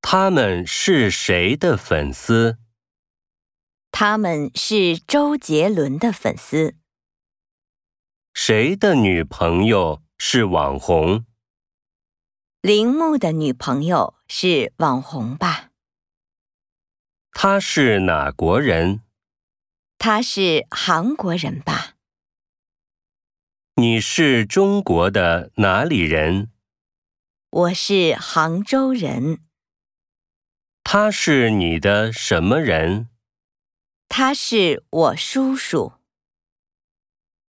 他们是谁的粉丝？ 他们是周杰伦的粉丝。 谁的女朋友是网红？ 铃木的女朋友是网红吧？ 他是哪国人？ 他是韩国人吧？ 你是中国的哪里人？ 我是杭州人。 他是你的什么人？ 他是我叔叔。